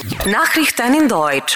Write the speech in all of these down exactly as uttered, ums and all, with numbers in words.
Nachrichten in Deutsch.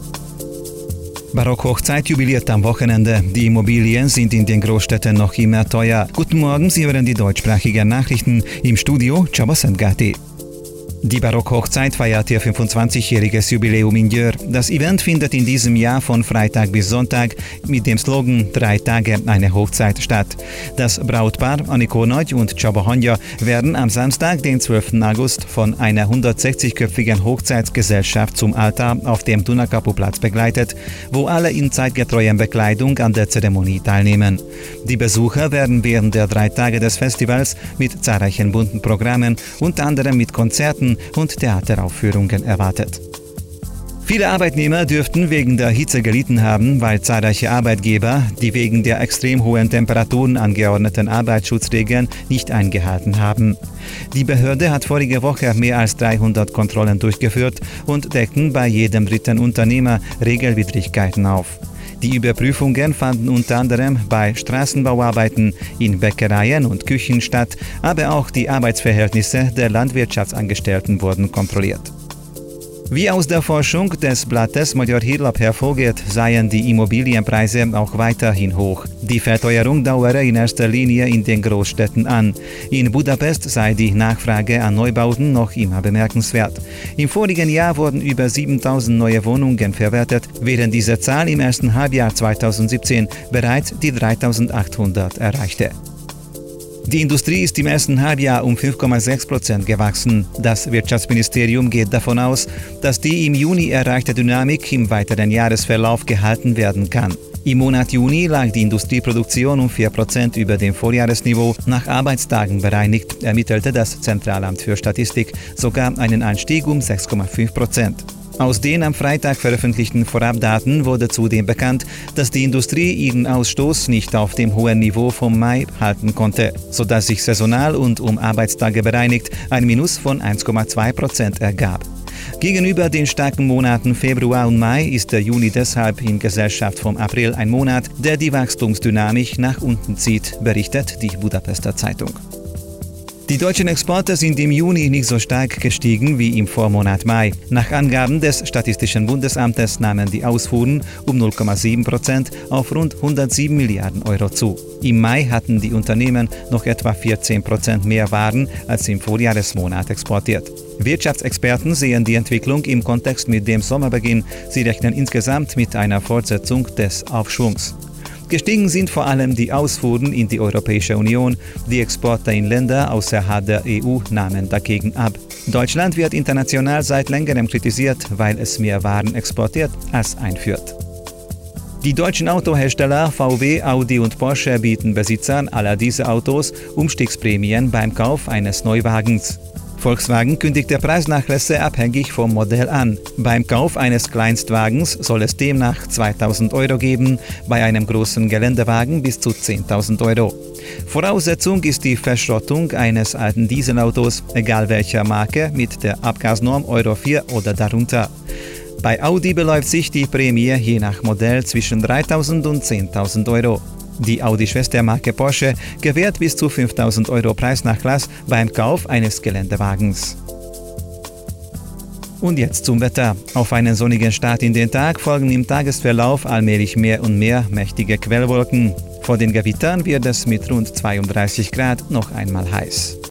Barockhochzeit jubiliert am Wochenende. Die Immobilien sind in den Großstädten noch immer teuer. Guten Morgen, Sie hören die deutschsprachigen Nachrichten. Im Studio Csaba Szentgárti. Die Barockhochzeit feiert ihr fünfundzwanzigjähriges Jubiläum in Győr. Das Event findet in diesem Jahr von Freitag bis Sonntag mit dem Slogan Drei Tage eine Hochzeit statt. Das Brautpaar Anikó Nagy und Csaba Hangya werden am Samstag, den zwölften August, von einer hundertsechzigköpfigen Hochzeitsgesellschaft zum Altar auf dem Dunakapuplatz begleitet, wo alle in zeitgetreuer Bekleidung an der Zeremonie teilnehmen. Die Besucher werden während der drei Tage des Festivals mit zahlreichen bunten Programmen, unter anderem mit Konzerten und Theateraufführungen erwartet. Viele Arbeitnehmer dürften wegen der Hitze gelitten haben, weil zahlreiche Arbeitgeber die wegen der extrem hohen Temperaturen angeordneten Arbeitsschutzregeln nicht eingehalten haben. Die Behörde hat vorige Woche mehr als dreihundert Kontrollen durchgeführt und deckten bei jedem dritten Unternehmer Regelwidrigkeiten auf. Die Überprüfungen fanden unter anderem bei Straßenbauarbeiten, in Bäckereien und Küchen statt, aber auch die Arbeitsverhältnisse der Landwirtschaftsangestellten wurden kontrolliert. Wie aus der Forschung des Blattes Magyar Hírlap hervorgeht, seien die Immobilienpreise auch weiterhin hoch. Die Verteuerung dauere in erster Linie in den Großstädten an. In Budapest sei die Nachfrage an Neubauten noch immer bemerkenswert. Im vorigen Jahr wurden über siebentausend neue Wohnungen verwertet, während diese Zahl im ersten Halbjahr zweitausendsiebzehn bereits die dreitausendachthundert erreichte. Die Industrie ist im ersten Halbjahr um fünf Komma sechs Prozent gewachsen. Das Wirtschaftsministerium geht davon aus, dass die im Juni erreichte Dynamik im weiteren Jahresverlauf gehalten werden kann. Im Monat Juni lag die Industrieproduktion um vier Prozent über dem Vorjahresniveau, nach Arbeitstagen bereinigt, ermittelte das Zentralamt für Statistik sogar einen Anstieg um sechs Komma fünf Prozent. Aus den am Freitag veröffentlichten Vorabdaten wurde zudem bekannt, dass die Industrie ihren Ausstoß nicht auf dem hohen Niveau vom Mai halten konnte, sodass sich saisonal und um Arbeitstage bereinigt ein Minus von eins Komma zwei Prozent ergab. Gegenüber den starken Monaten Februar und Mai ist der Juni deshalb in Gesellschaft vom April ein Monat, der die Wachstumsdynamik nach unten zieht, berichtet die Budapester Zeitung. Die deutschen Exporte sind im Juni nicht so stark gestiegen wie im Vormonat Mai. Nach Angaben des Statistischen Bundesamtes nahmen die Ausfuhren um null Komma sieben Prozent auf rund hundertsieben Milliarden Euro zu. Im Mai hatten die Unternehmen noch etwa vierzehn Prozent mehr Waren als im Vorjahresmonat exportiert. Wirtschaftsexperten sehen die Entwicklung im Kontext mit dem Sommerbeginn. Sie rechnen insgesamt mit einer Fortsetzung des Aufschwungs. Gestiegen sind vor allem die Ausfuhren in die Europäische Union. Die Exporte in Länder außerhalb der E U nahmen dagegen ab. Deutschland wird international seit längerem kritisiert, weil es mehr Waren exportiert als einführt. Die deutschen Autohersteller V W, Audi und Porsche bieten Besitzern aller dieser Autos Umstiegsprämien beim Kauf eines Neuwagens. Volkswagen kündigte Preisnachlässe abhängig vom Modell an. Beim Kauf eines Kleinstwagens soll es demnach zweitausend Euro geben, bei einem großen Geländewagen bis zu zehntausend Euro. Voraussetzung ist die Verschrottung eines alten Dieselautos, egal welcher Marke, mit der Abgasnorm Euro vier oder darunter. Bei Audi beläuft sich die Prämie je nach Modell zwischen dreitausend und zehntausend Euro. Die Audi-Schwestermarke Porsche gewährt bis zu fünftausend Euro Preisnachlass beim Kauf eines Geländewagens. Und jetzt zum Wetter. Auf einen sonnigen Start in den Tag folgen im Tagesverlauf allmählich mehr und mehr mächtige Quellwolken. Vor den Gewittern wird es mit rund zweiunddreißig Grad noch einmal heiß.